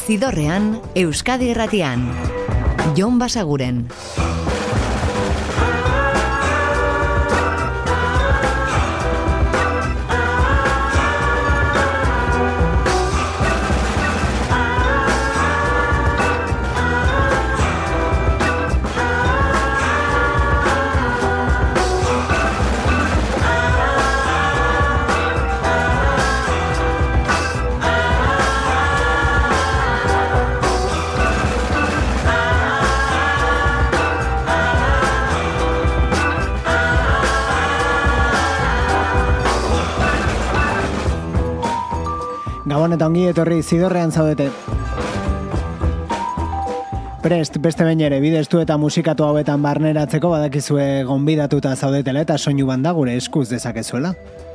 Zidorrean, Euskadi Irratian. Jon Basaguren. Gabon eta ongi etorri Zidorrean zaudete. Prest, beste behin ere, bidestu eta musikatu hauetan barneratzeko badakizue gonbidatuta zaudetela eta soinu banda gure eskuz dezakezuela.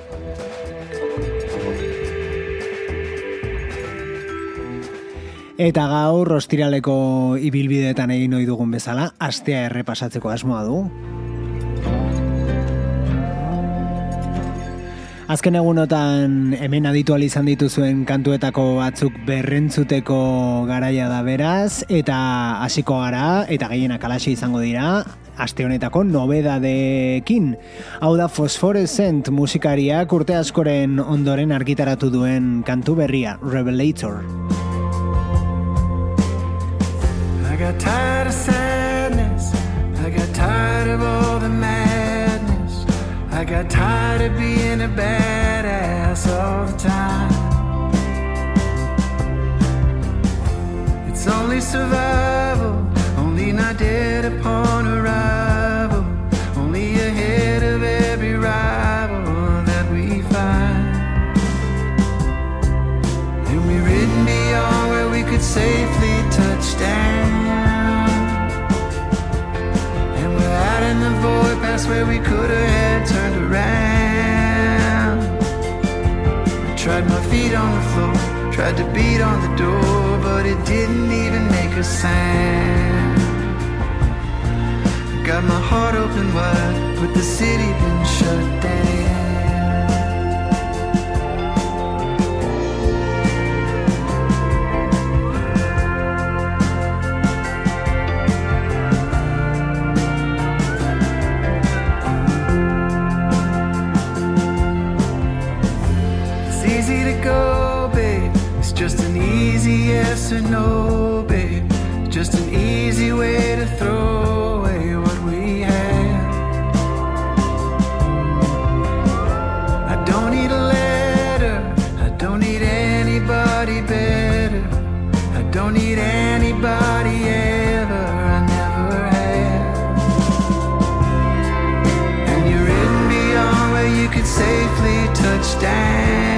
Eta gaur ostiraleko ibilbideetan egin ohi dugun bezala, astea errepasatzeko asmoa du. Azken egunotan hemen aditu izan dituzuen kantuetako batzuk berrentzuteko garaia da beraz, eta hasiko gara, eta gehienak alaxe izango dira, aste honetako nobedadeekin. Hau da Phosphorescent musikariak urte askoren ondoren argitaratu duen kantu berria, Revelator. I got tired of sadness, I got tired of all the madness, I got tired of being a badass all the time. It's only survival, only not dead upon arrival, only ahead of every rival that we find. And we've ridden beyond where we could safely touch down, and we're out in the void past where we could have had turned around. I tried my feet on the floor, tried to beat on the door, but it didn't even make a sound. Got my heart open wide, but the city been shut down. Just an easy yes or no, babe. Just an easy way to throw away what we had. I don't need a letter, I don't need anybody better, I don't need anybody ever, I never had. And you're ridden beyond where you could safely touch down,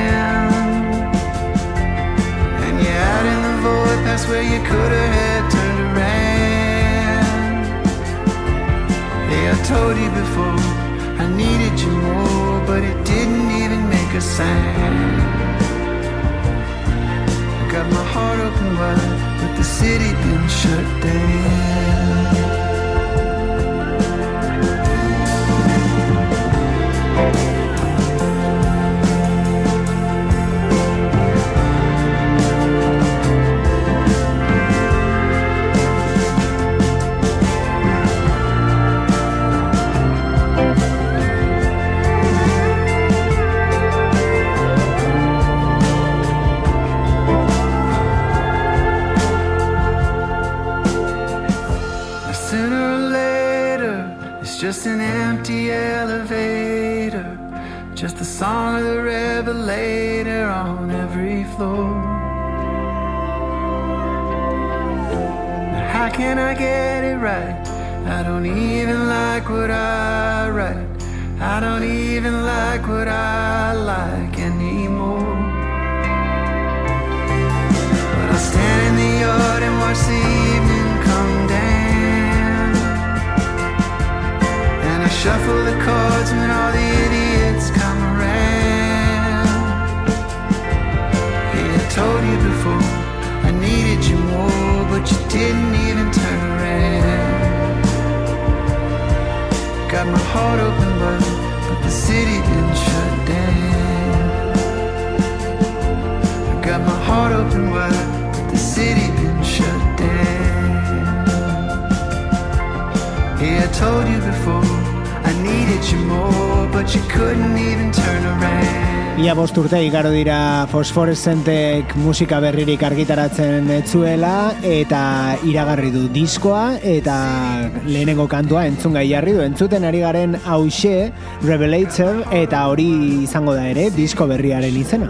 past where you could have had turned around. Yeah, I told you before, I needed you more, but it didn't even make a sound. I got my heart open wide, but the city been shut down. Just an empty elevator, just the song of the revelator on every floor. Now how can I get it right? I don't even like what I write, I don't even like what I like anymore. But I'll stand in the yard and watch the evening come down, I shuffle the cards when all the idiots come around. Hey, I told you before, I needed you more, but you didn't even turn around. Got my heart open wide, but the city didn't shut down. I got my heart open wide, but the city I told you before, I needed you more, but you couldn't even turn around. Ia 5 urte igaro dira Fosforescentek musika berririk argitaratzen etzuela, eta iragarri du diskoa, eta lehenengo kantua entzungai jarri du. Entzuten ari garen hauxe, Revelator, eta hori izango da ere disko berriaren izena.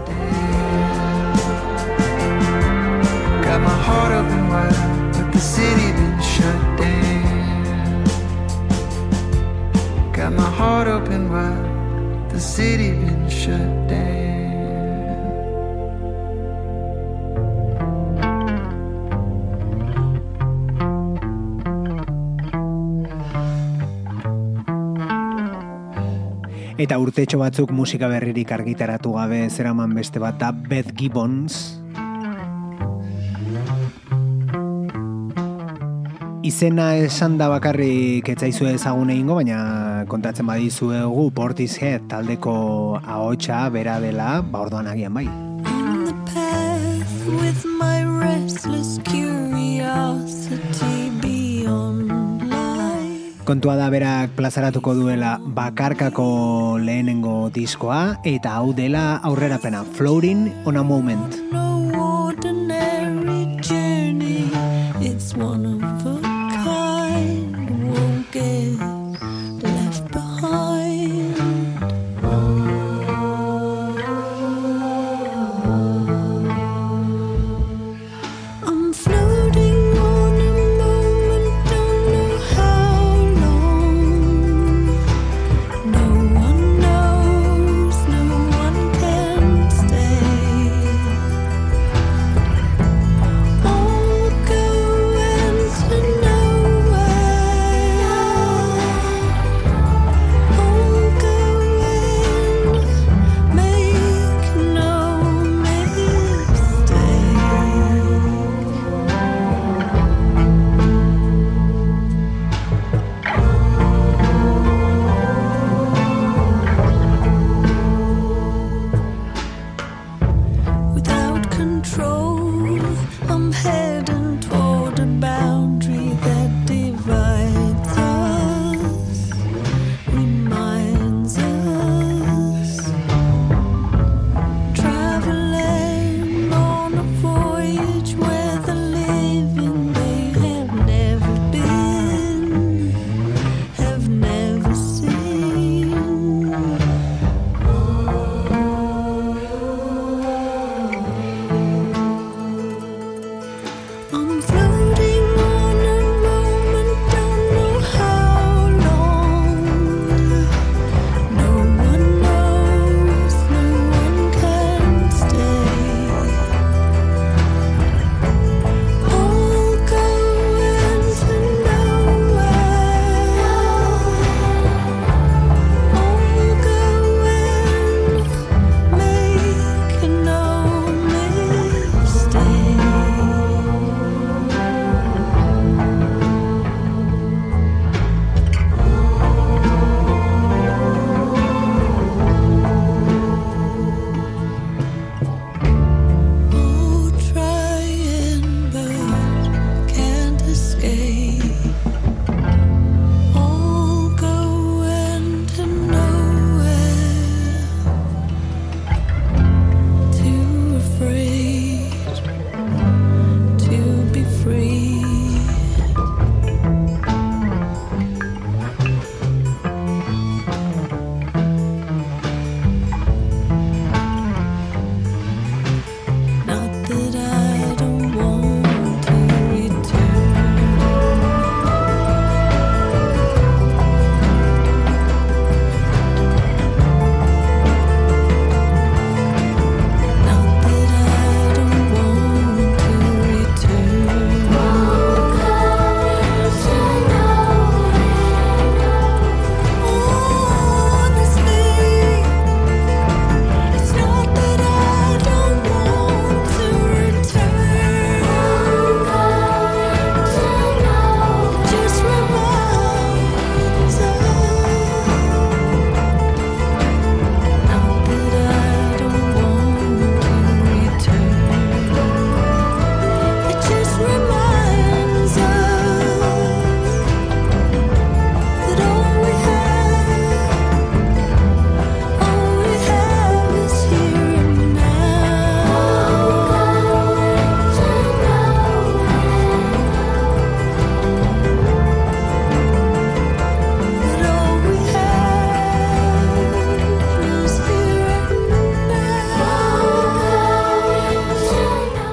Got my heart open wide, but the city been shut down. Got my heart open wide, the city been shut down. Eta urtetxo batzuk musika berririk argitaratu gabe zeraman beste bat da Beth Gibbons. Izena esan da bakarrik etzaizue ezagun egingo, baina kontatzen badizuegu Portishead taldeko ahotsa bera dela, orduan agian bai. On the path with my restless curiosity beyond life. Kontua da berak plazaratuko duela bakarkako lehenengo diskoa, eta hau dela aurrerapena, Floating on a Moment. No ordinary journey, it's one of a kind, won't get left behind. I'm floating on a moment, don't know how long. No one knows, no one can stay.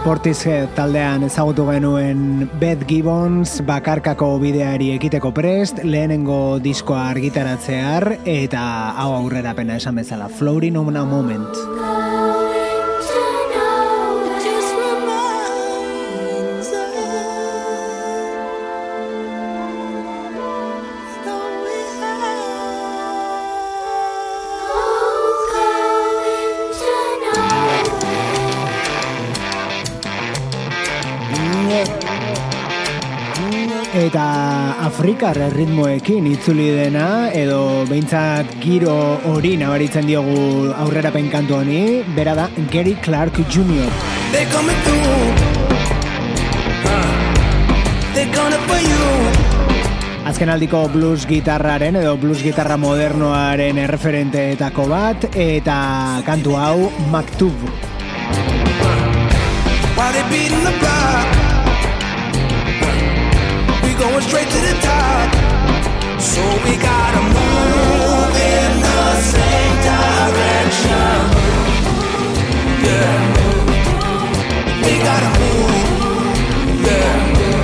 Portishead taldean ezagutu genuen Beth Gibbons bakarkako bideari ekiteko prest, lehenengo diskoa argitaratzear, eta hau aurrerapena esan bezala, Floating on a Moment. Eta afrikar ritmoekin itzuli dena, edo behintzat giro hori nabaritzen diogu aurrerapen kantu honi, bera da Gary Clark Jr. Azken aldiko blues gitarraren edo blues gitarra modernoaren erreferenteetako bat, eta kantu hau Maktub. Going straight to the top, so we gotta move in the same direction. Yeah, we gotta move. Yeah,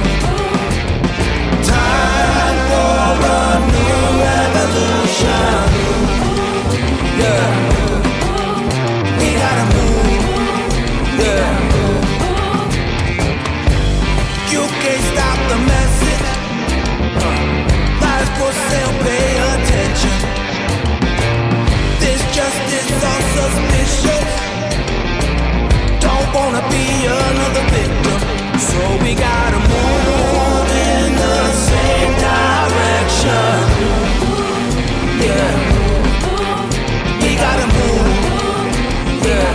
time for a new revolution. Yeah, we gotta move. Yeah, you can't stop the message. For sale, pay attention. This justice on suspicion. Don't wanna be another victim, so we gotta move in the same direction. Yeah, we gotta move. Yeah,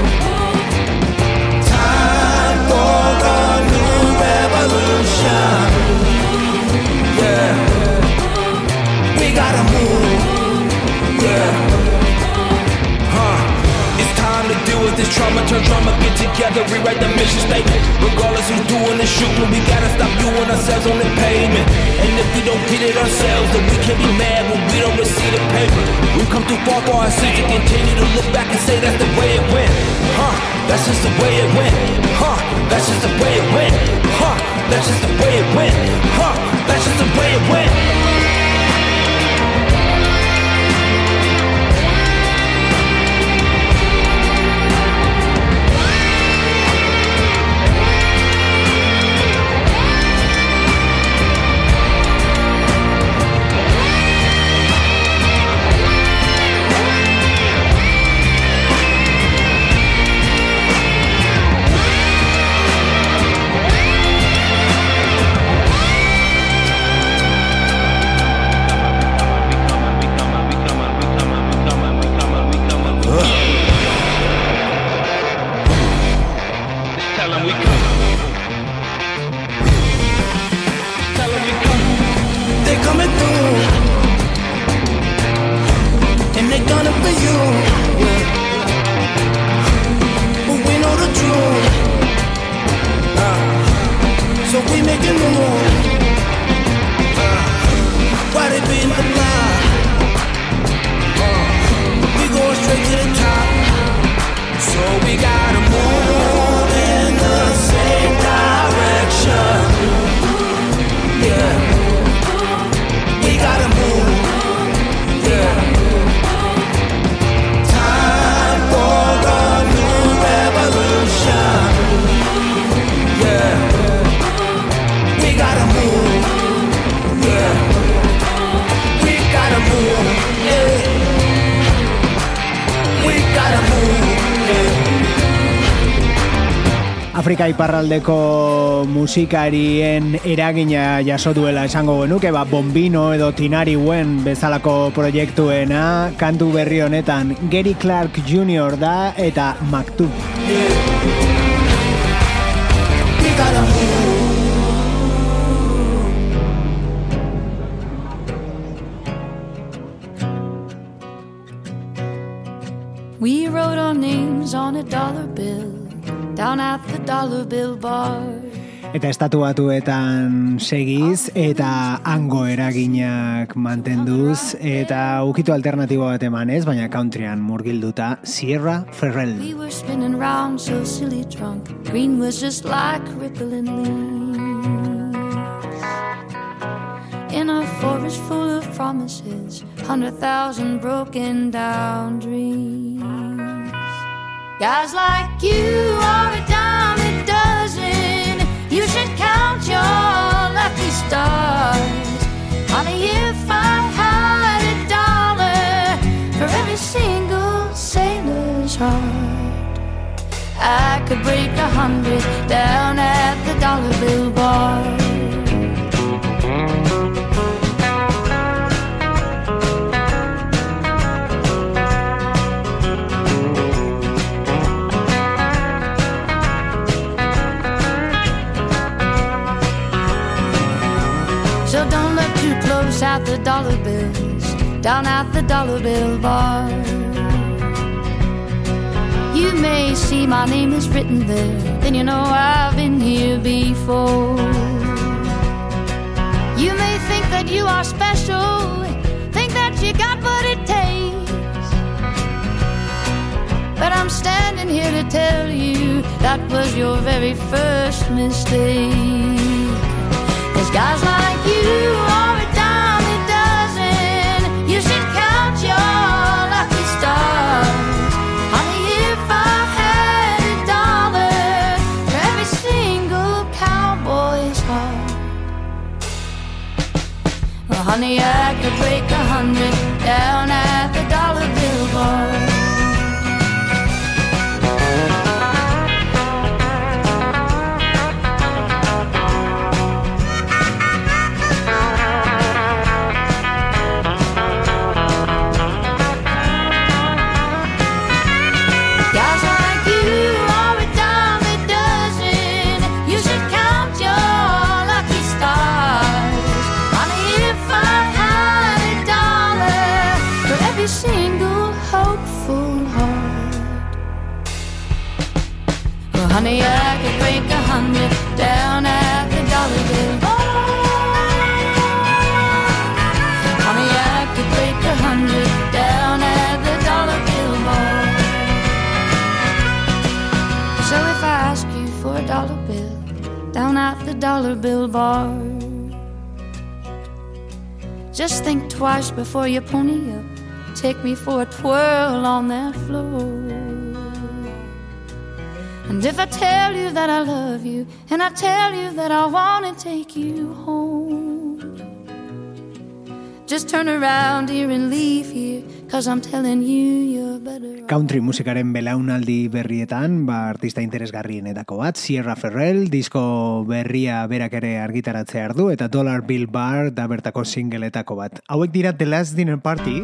time for a new revolution. Yeah. We gotta move, yeah. It's time to deal with this trauma, turn drama, get together, rewrite the mission statement. Regardless who's doing the shooting, we gotta stop viewing ourselves on the pavement. And if we don't get it ourselves, then we can be mad when we don't receive the paper. We've come too far for our sins to continue to look back and say that's the way it went. That's just the way it went. That's just the way it went. That's just the way it went. That's just the way it went. Afrika iparraldeko musikarien eragina jaso duela esango genuke, Bombino edo Tinari Wen bezalako proiektuena, kantu berri honetan Gary Clark Jr. da eta Maktub. We wrote our names on a dollar bill down at the dollar bill bar. Eta Estatu Batuetan segiz eta hango eraginak mantenduz eta ukitu alternatibo bat emanez, baina countryan murgilduta Sierra Ferrell. We were spinning round so silly drunk. Green was just like rippling leaves. In a forest full of promises, 100,000 broken down dreams. Guys like you are a dime a dozen. You should count your lucky stars. Honey, if I had $1 for every single sailor's heart, I could break 100 down at the dollar bill bar. So don't look too close at the dollar bills, down at the dollar bill bar. You may see my name is written there, then you know I've been here before. You may think that you are special, think that you got what it takes, but I'm standing here to tell you that was your very first mistake. There's guys like you are a dime a dozen. You should count your lucky stars. Honey, if I had $1 for every single cowboy's heart, well, honey, I could break 100 down at the dollar bill bar. Honey, I could break 100 down at the dollar bill bar. Honey, I could break 100 down at the dollar bill bar. So if I ask you for $1 bill down at the dollar bill bar, just think twice before you pony up. Take me for a twirl on that floor. And if I tell you that I love you, and I tell you that I want to take you home, just turn around here and leave here, 'cause I'm telling you you're better off. Country musikaren belaunaldi berrietan, artista interesgarrienetako bat, Sierra Ferrell, disko berria berak ere argitaratzear du, eta Dollar Bill Bar da bertako singleetako bat. Hauek dira The Last Dinner Party.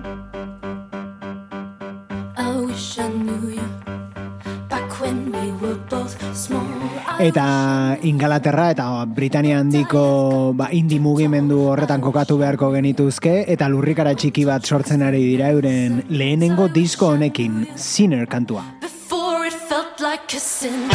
I wish I knew you back when we were both small. Eta Ingalaterra eta Britania handiko indie mugimendu horretan kokatu beharko genituzke, eta lurrikara txiki bat sortzen ari dira euren lehenengo disko honekin, Sinner kantua. Before it felt like a sin.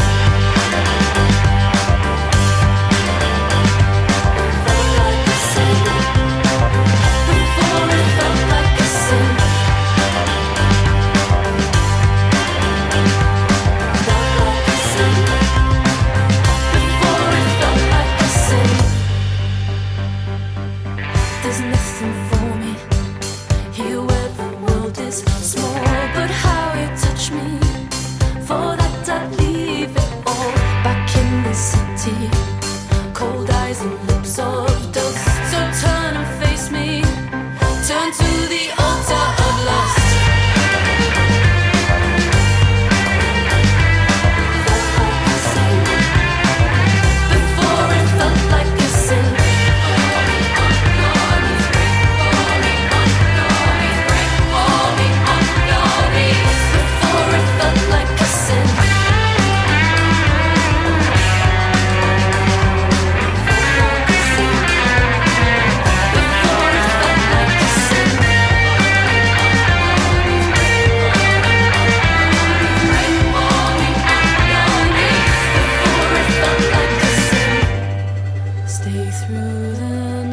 through the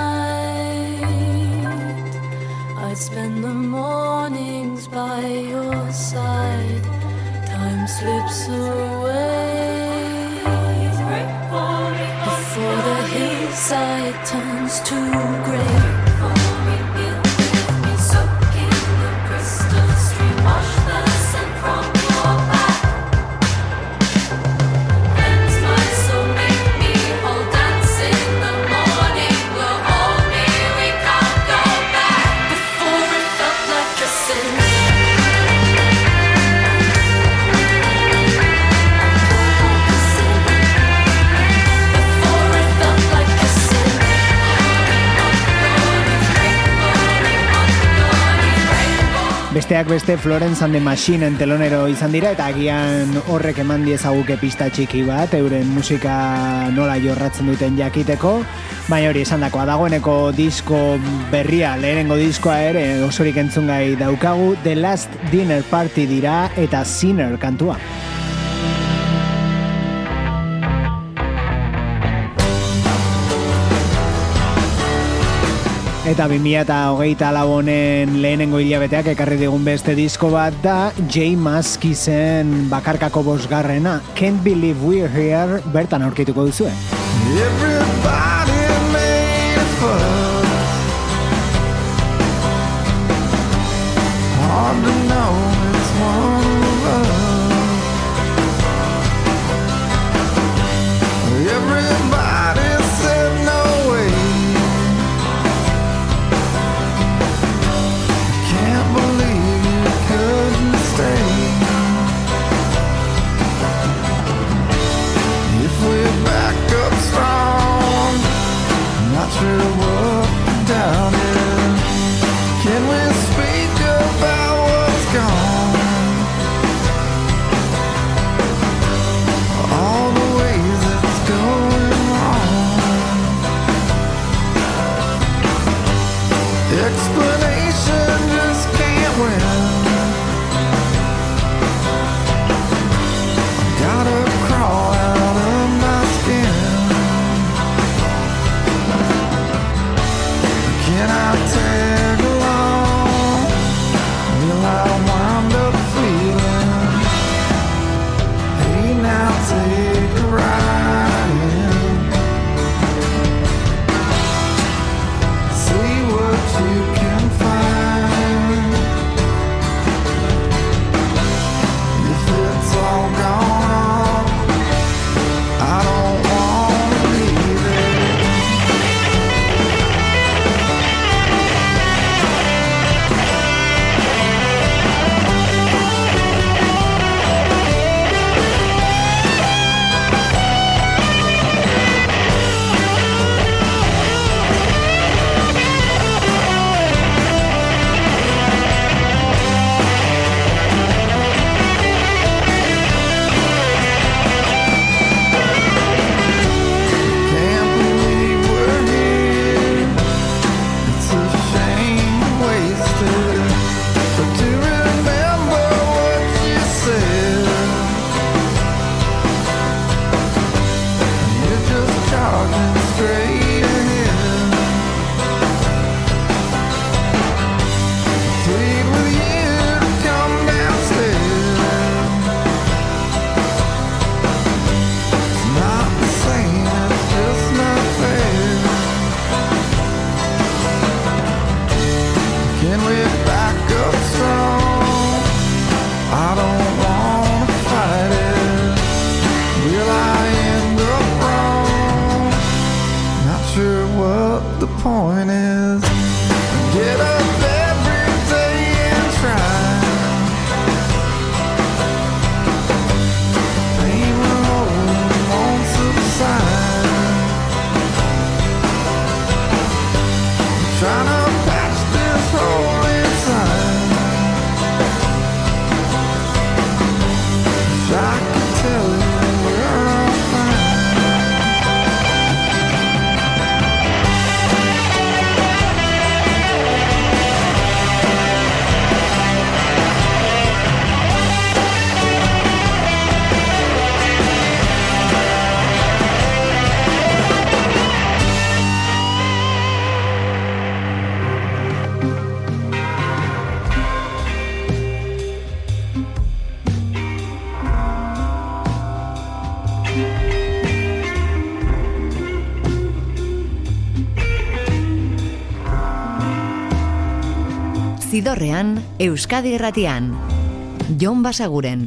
night. I'd spend the mornings by your side. Time slips away before the hillside turns to grey. Besteak beste Florence and the Machine telonero izan dira eta agian horrek eman diezaguke pista txiki bat euren musika nola jorratzen duten jakiteko, baina hori esandakoa dagoeneko disko berria, lehenengo diskoa ere osorik entzungai daukagu, The Last Dinner Party dira eta Sinner kantua. Eta 2024 honen lehenengo hilabeteak ekarri digun beste disko bat da J Maskisen bakarkako bosgarrena, Can't Believe We're Here, bertan aurkituko duzue. Everybody made a fuss. Hard to know it's one of us. Everybody said no way. Can't believe you couldn't stay. If we're back up strong, not sure what the doubt is. Can we speak about what's gone? All the ways it's going wrong. Explanation just can't win. Gotta crawl out of my skin. Can I tag along? Will I wind up feeling? Hey, now take a ride in. See what you can find. If it's all gone, I don't wanna leave it. Can't believe we're here. It's a shame wasted. But to remember what you said, you're just charging straight ahead. Plead with you to come downstairs. It's not the same, it's just not fair. Can we back up strong? I don't wanna fight it. Will I end up wrong? Not sure what the point is. Get up every day and try. Pain will hold, won't subside. Trying to patch this hole inside. Wish I could tell you we're all fine. Zidorrean, Euskadi Irratian. Jon Basaguren.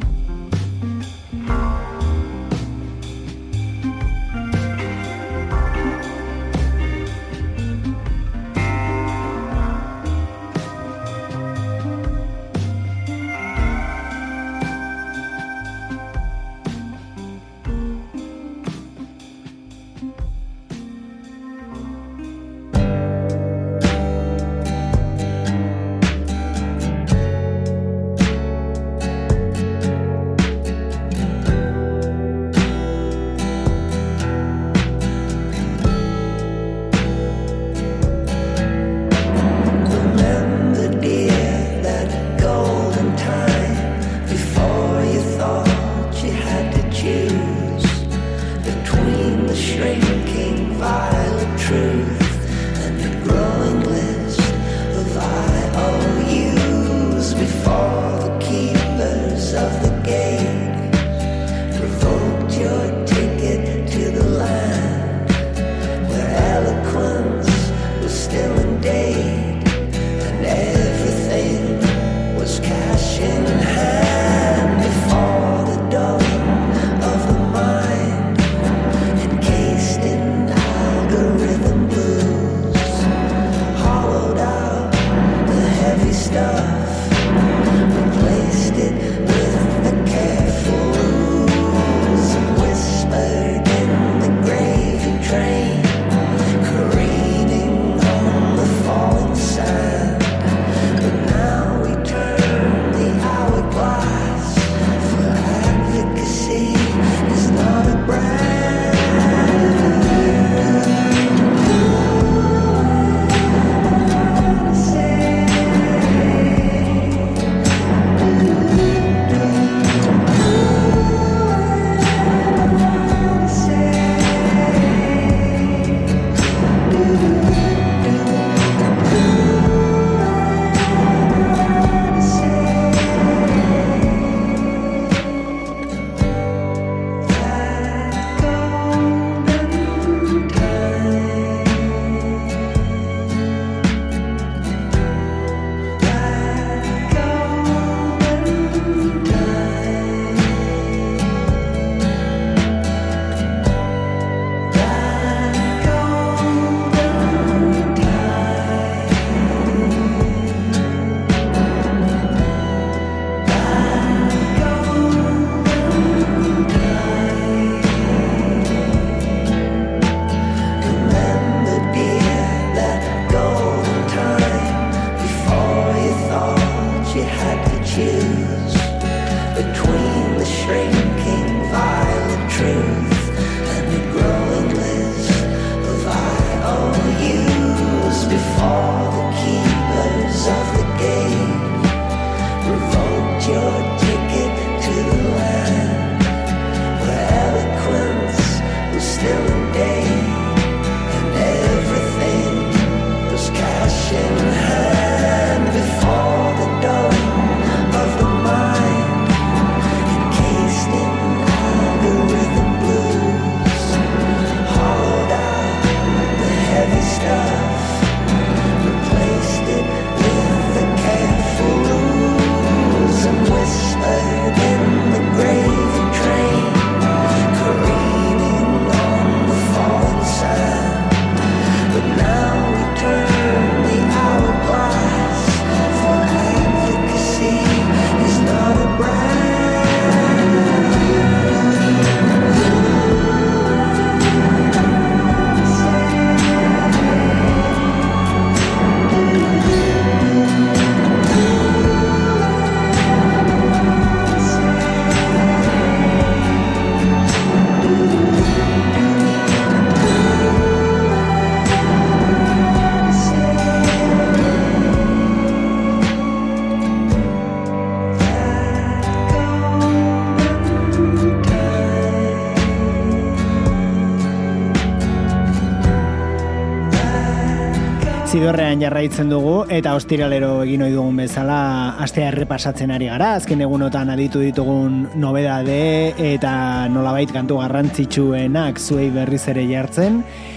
Zidorrean jarraitzen dugu eta ostiralero egin ohi dugun bezala astea errepasatzen ari gara. Azken egunotan aditu ditugun nobedade eta nolabait kantu garrantzitsuenak zuei berriz ere jartzen.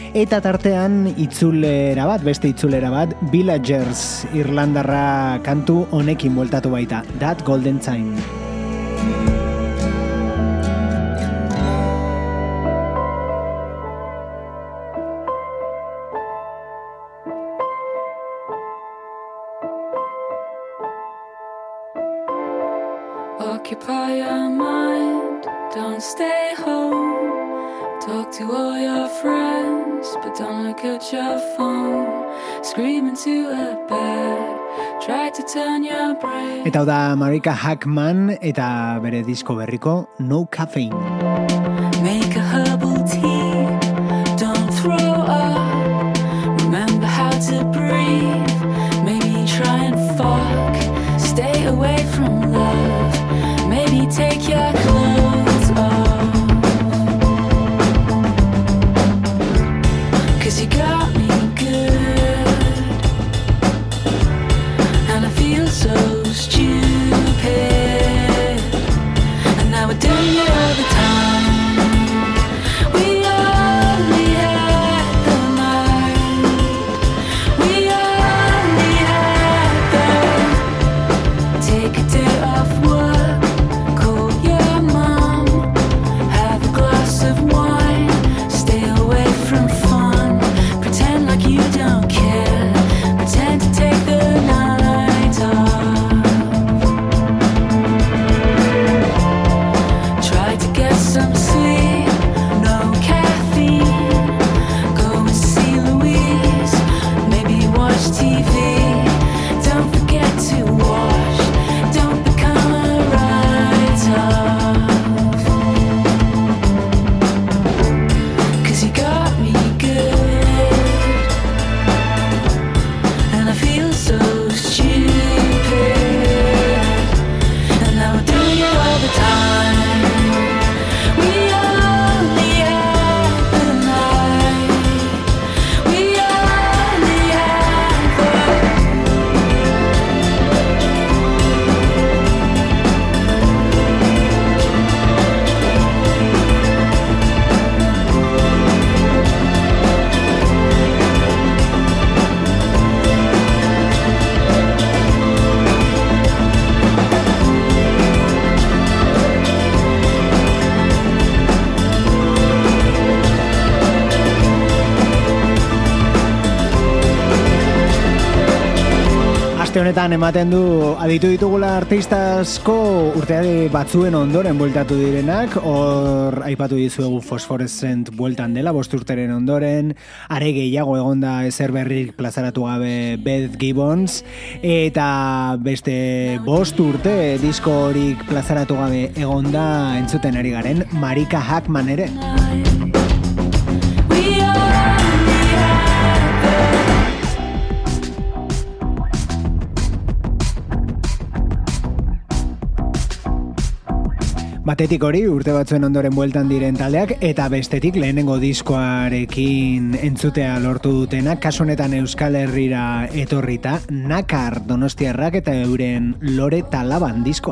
Eta tartean beste itzulera bat, Villagers Irlandarra kantu honekin bueltatu baita, That Golden Time. Occupy your mind, don't stay home. Talk to all your friends, but don't look at your phone. Scream into a bed, try to turn your brain. Eta hau da Marika Hackman eta bere disko berriko No Caffeine. Make a herbal tea, don't throw up. Remember how to breathe, maybe try and fuck. Stay away from love, maybe take your clothes off. 'Cause you got me good, and I feel so stupid. And now we're doing it all the time. We only had the night. We only had the. Take a day off work, call your mom, have a glass of wine, stay away from fun, pretend like you don't care, pretend to take the night off. Try to get some sleep, no caffeine, go and see Louise, maybe watch TV, don't forget to wash, don't become a write-off. 'Cause you got me good, and I feel so stupid. And now we're doing it all the time. We only have the night. We only have the. Aste honetan ematen du aditu ditugula artista asko urteari batzuen ondoren bueltatu direnak, hor aipatu dizuegu Phosphorescent bueltan dela 5 urteren ondoren, are gehiago egonda ezer berrik plazaratu gabe Beth Gibbons, eta beste 5 urte disko horik plazaratu gabe egonda entzuten ari garen Marika Hackman ere. We only have the. Batetik hori urte batzuen ondoren bueltan diren taldeak, eta bestetik lehenengo diskoarekin entzutea lortu dutenak, kasu honetan Euskal Herrira etorrita, Nakar donostiarrak eta euren Lore Talaban diskoa.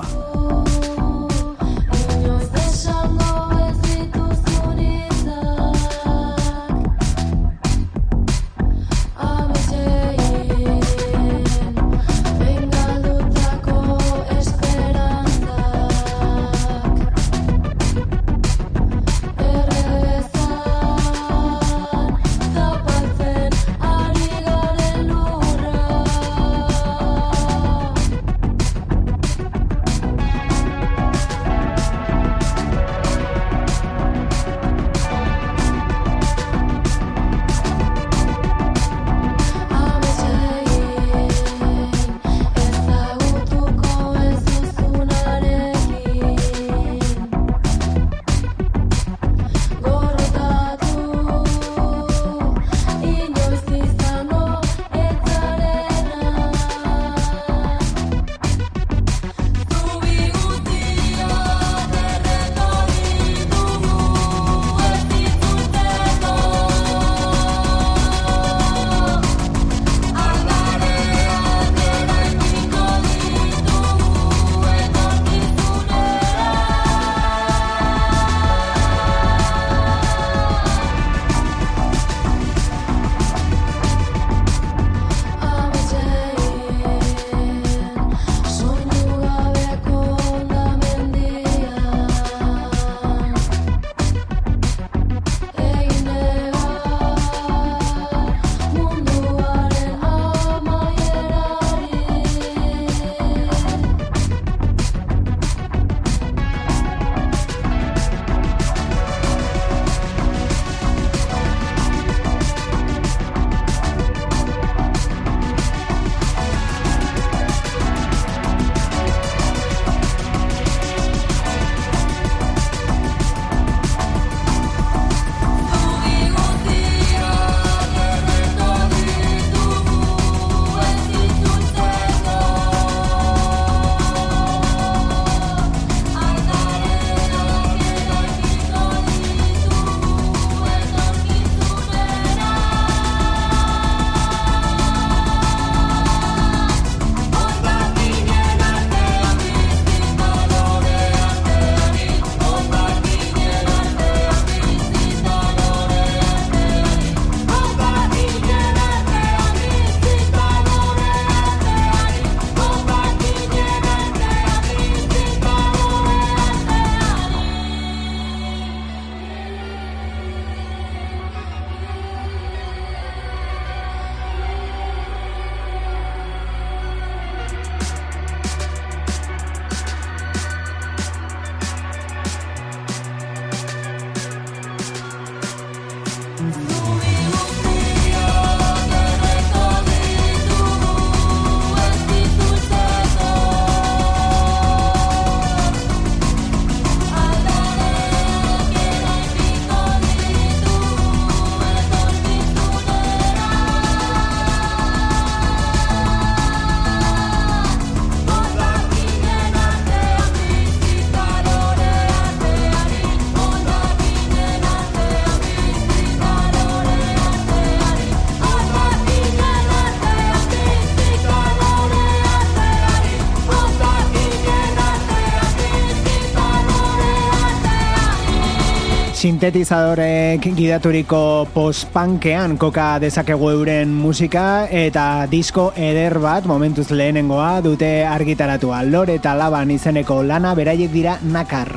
Sintetizadorek gidaturiko post-punkean koka dezakegu euren musika eta disko eder bat momentuz lehenengoa dute argitaratua. Lore eta Laban izeneko lana beraiek dira Nakar.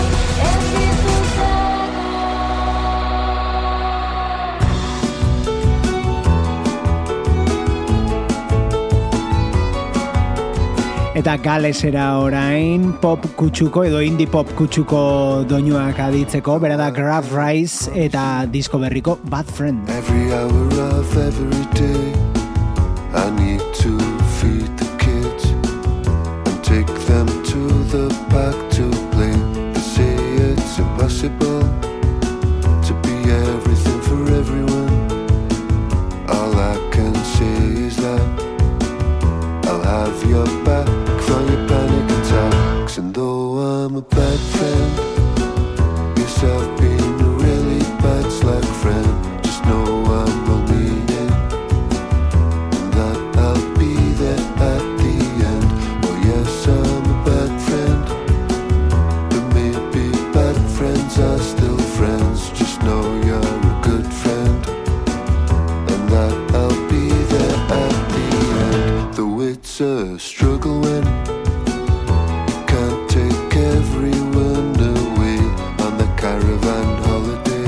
Eta galesera orain pop kutsuko edo indie pop kutsuko doinuak aditzeko, bera da Graf Rice eta disko berriko Bad Friend. Every hour of every day I need to feed the kids and take them to the park to play. They say it's impossible to be everything for everyone. All I can say is that I'll have your back for your panic attacks. And though I'm a bad friend, yes, I've been a really bad slack friend. Just know I'm well-meaning and that I'll be there at the end. Oh yes, I'm a bad friend, but maybe bad friends are still friends. Just know you're a good friend and that I'll be there at the end. Though it's a struggle when you can't take everyone away on the caravan holiday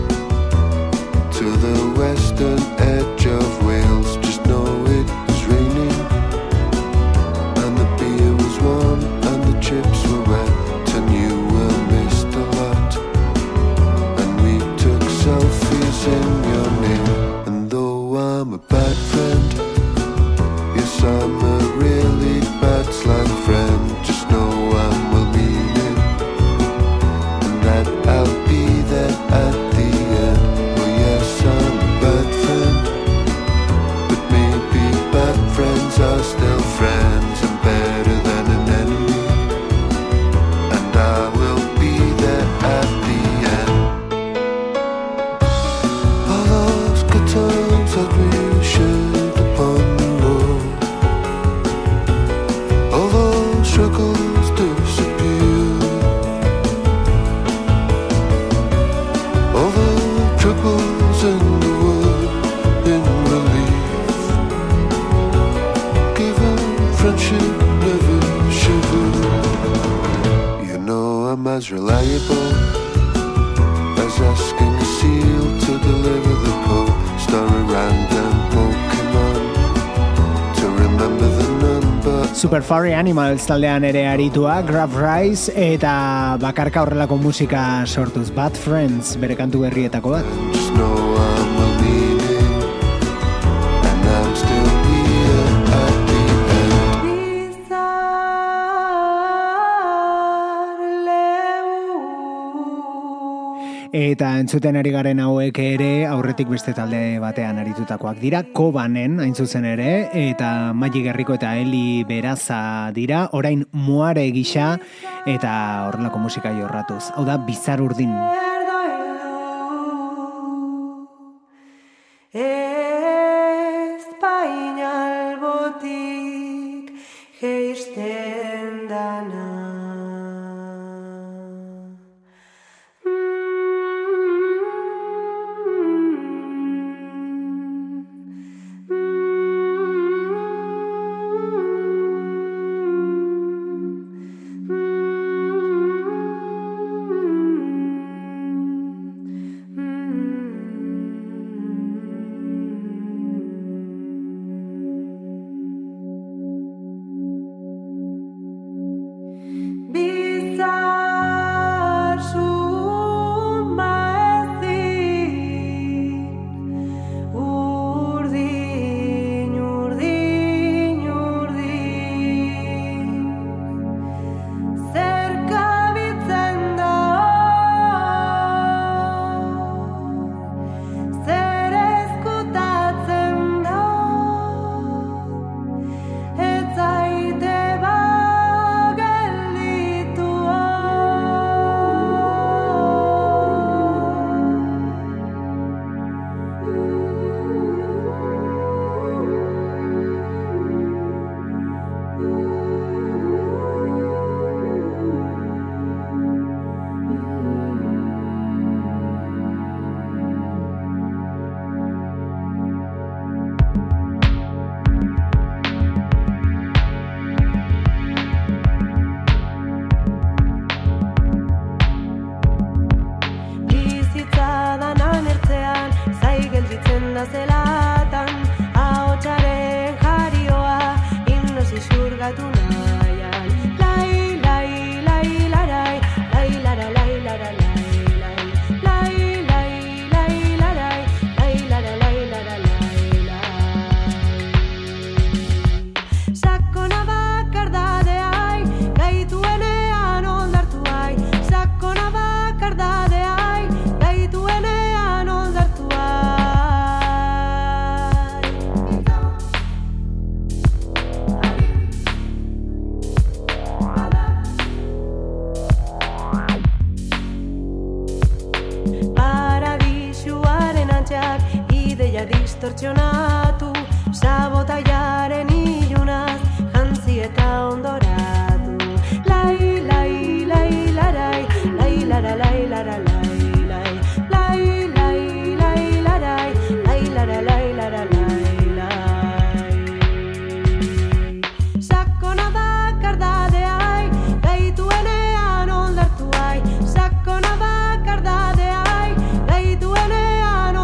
to the western edge of Wales. Just know it was raining and the beer was warm and the chips were wet and you were missed a lot and we took selfies in your name. And though I'm a bad friend, yes, I'm a really bad slang friend. Just know I'm well-meaning and that I'll be there at the end. Oh yes, I'm a bad friend, but maybe bad friends are still friends and better than an enemy. And I will be there at the end. All those good times that we shared upon the road, all those struggles disappear, all the troubles in the world in relief, given friendship never shiver. You know I'm as reliable as asking a seal to deliver the post or a random Pokemon to remember the number. Super Furry Animals taldean ere aritua, Graf Rice eta bakarka horrelako musika sortuz. Bad Friends bere kantu berrietako bat. Just know I'm well-meaning and I'm still here at the end. Eta entzuten ari garen hauek ere aurretik beste talde batean aritutakoak dira, Kobanen hain zuzen ere, eta Magi Gerriko eta Eli Beraza dira, orain Muare gisa eta horrelako musika jorratuz. Hau da Bizar Urdin. Espainal botik geisten dana. distortsionatu, sabotaiaren ilunaz, jantzi eta ondoratu. Lai, lai, lai, larai, lai, lara, lai, lara, lai, lai, lai, lai, lai, larai, lai, lara, lai, lara, lai, lai. Sakona bakardadeai, gaituenean oldartuai, sakona bakardadeai, gaituenean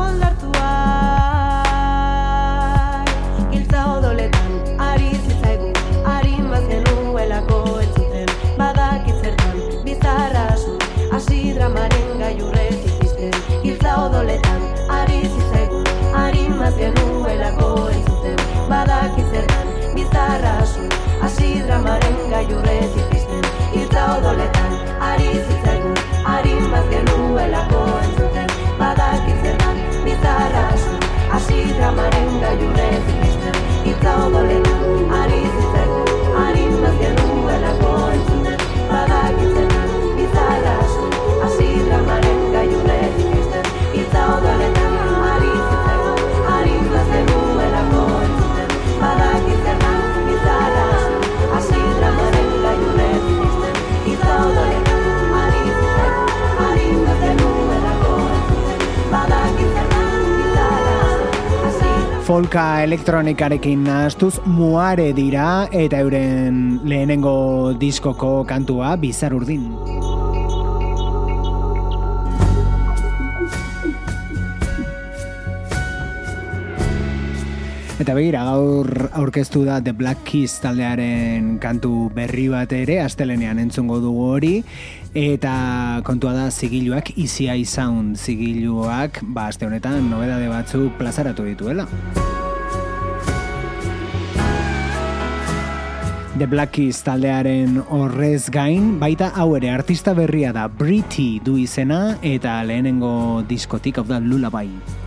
oldartuai. Giltza odoletan, ari zitzaigu, arin bat genuelako entzuten, badakit zertan, bizarrazu, hasi dramaren gailurretik pizten. Giltza odoletan, ari zitzaigu, arin bat genuelako entzuten, badakit zertan, bizarrazu, hasi dramaren gailurretik pizten. Giltza odoletan, ari zitzaigu, arin bat genuelako entzuten, badakit zertan, bizarrazu, hasi dramaren gailurretik pizten. Giltza odoletan, ari zitzaigu, arin bat genuelako entzuten, badakit zertan, bizarrazu, hasi dramaren gailurretik pizten. Giltza odoletan, ari zitzaigu, arin bat genuelako entzuten, badakit zertan, bizarrazu, hasi dramaren gailurretik pizten. Giltza odoletan, ari zitzaigu, arin bat genuelako entzuten, badakit zertan, bizarrazu, hasi Folka elektronikarekin nahastuz Muare dira eta euren lehenengo diskoko kantua Bizar Urdin. Eta begira, gaur aurkeztu da The Black Keys taldearen kantu berri bat ere, astelenean entzungo dugu hori, eta kontua da zigiluak Easy Eye Sound zigiluak, aste honetan nobedade batzuk plazaratu dituela. The Black Keys taldearen horrez gain, baita hau ere artista berria da, Britty du izena, eta lehenengo diskotik, hau da Lullaby.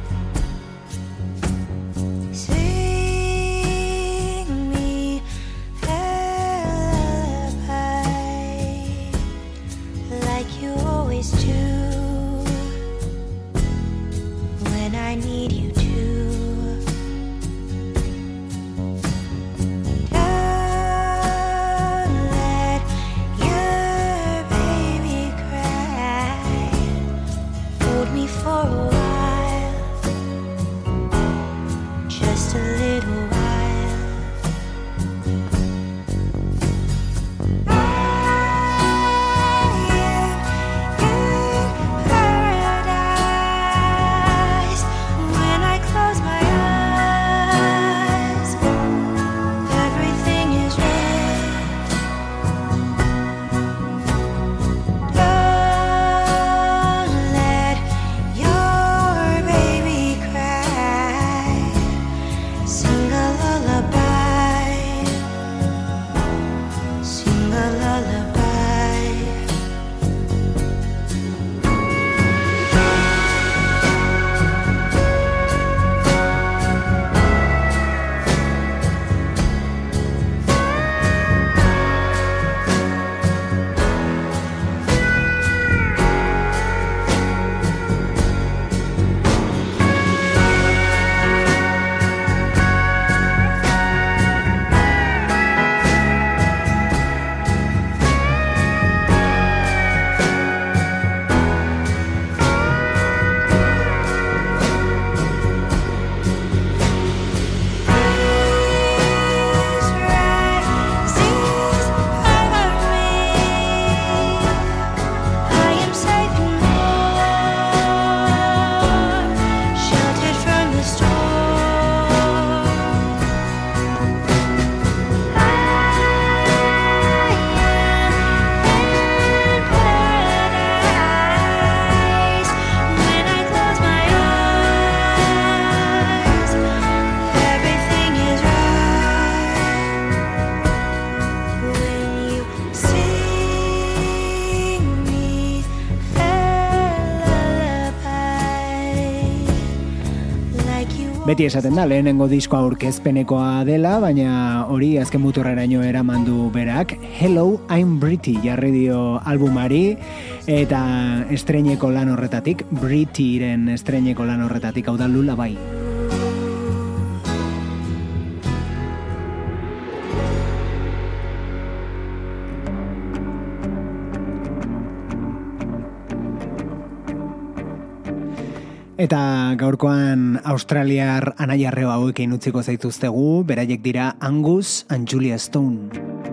Beti esaten da, lehenengo diskoa aurkezpenekoa dela, baina hori azken muturreraino eraman du berak. Hello, I'm Britty jarri dio albumari, eta estreineko lan horretatik, Brittyren estreineko lan horretatik, hau da Lullaby. Eta gaurkoan australiar anaiarreo hauekin utziko zaituztegu, beraiek dira Angus and Julia Stone.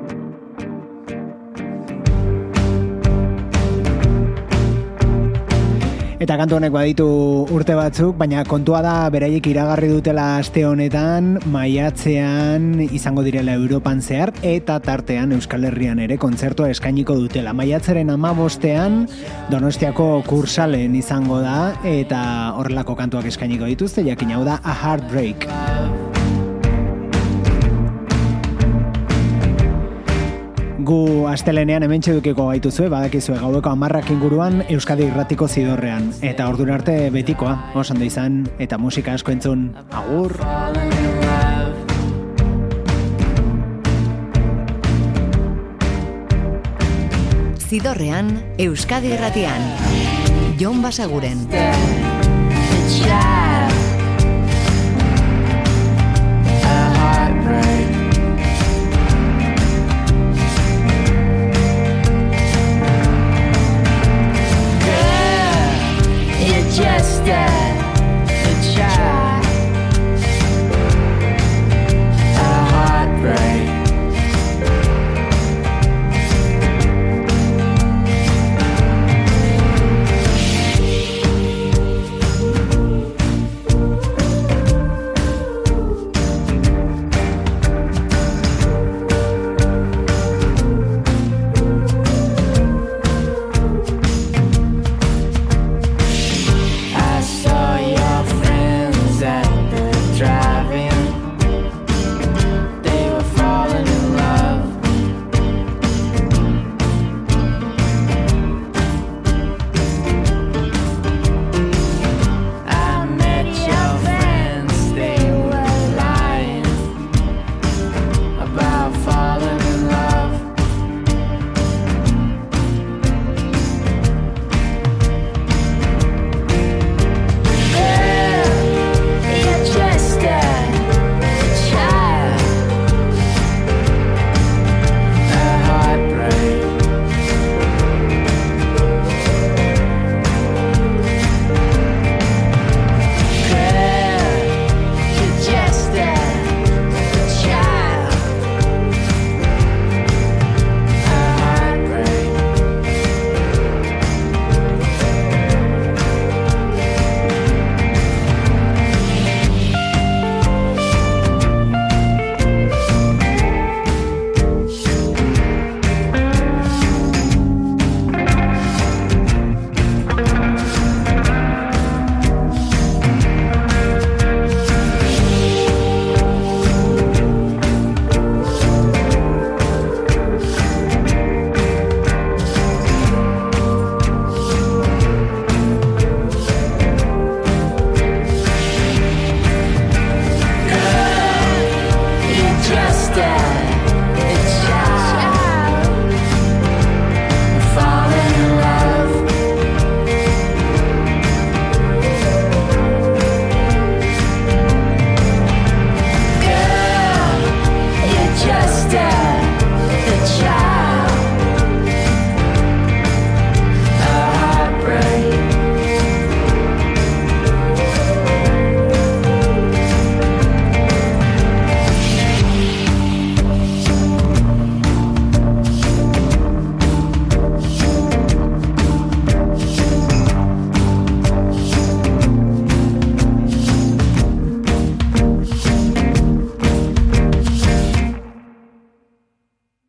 Eta kantu honek baditu urte batzuk, baina kontua da beraiek iragarri dutela aste honetan, maiatzean izango direla Europan zehar, eta tartean Euskal Herrian ere kontzertua eskainiko dutela. Maiatzaren 15ean Donostiako Kursalen izango da, eta horrelako kantuak eskainiko dituzte, jakin hau da A Heartbreak. Gu astelenean hementxe dukiko gaituzue, badakizue gaueko 10 inguruan Euskadi Irratiko Zidorrean. Eta ordura arte betikoa, oso ondo izan, eta musika asko entzun. Agur! Zidorrean, Euskadi Irratian. Jon Basaguren. The child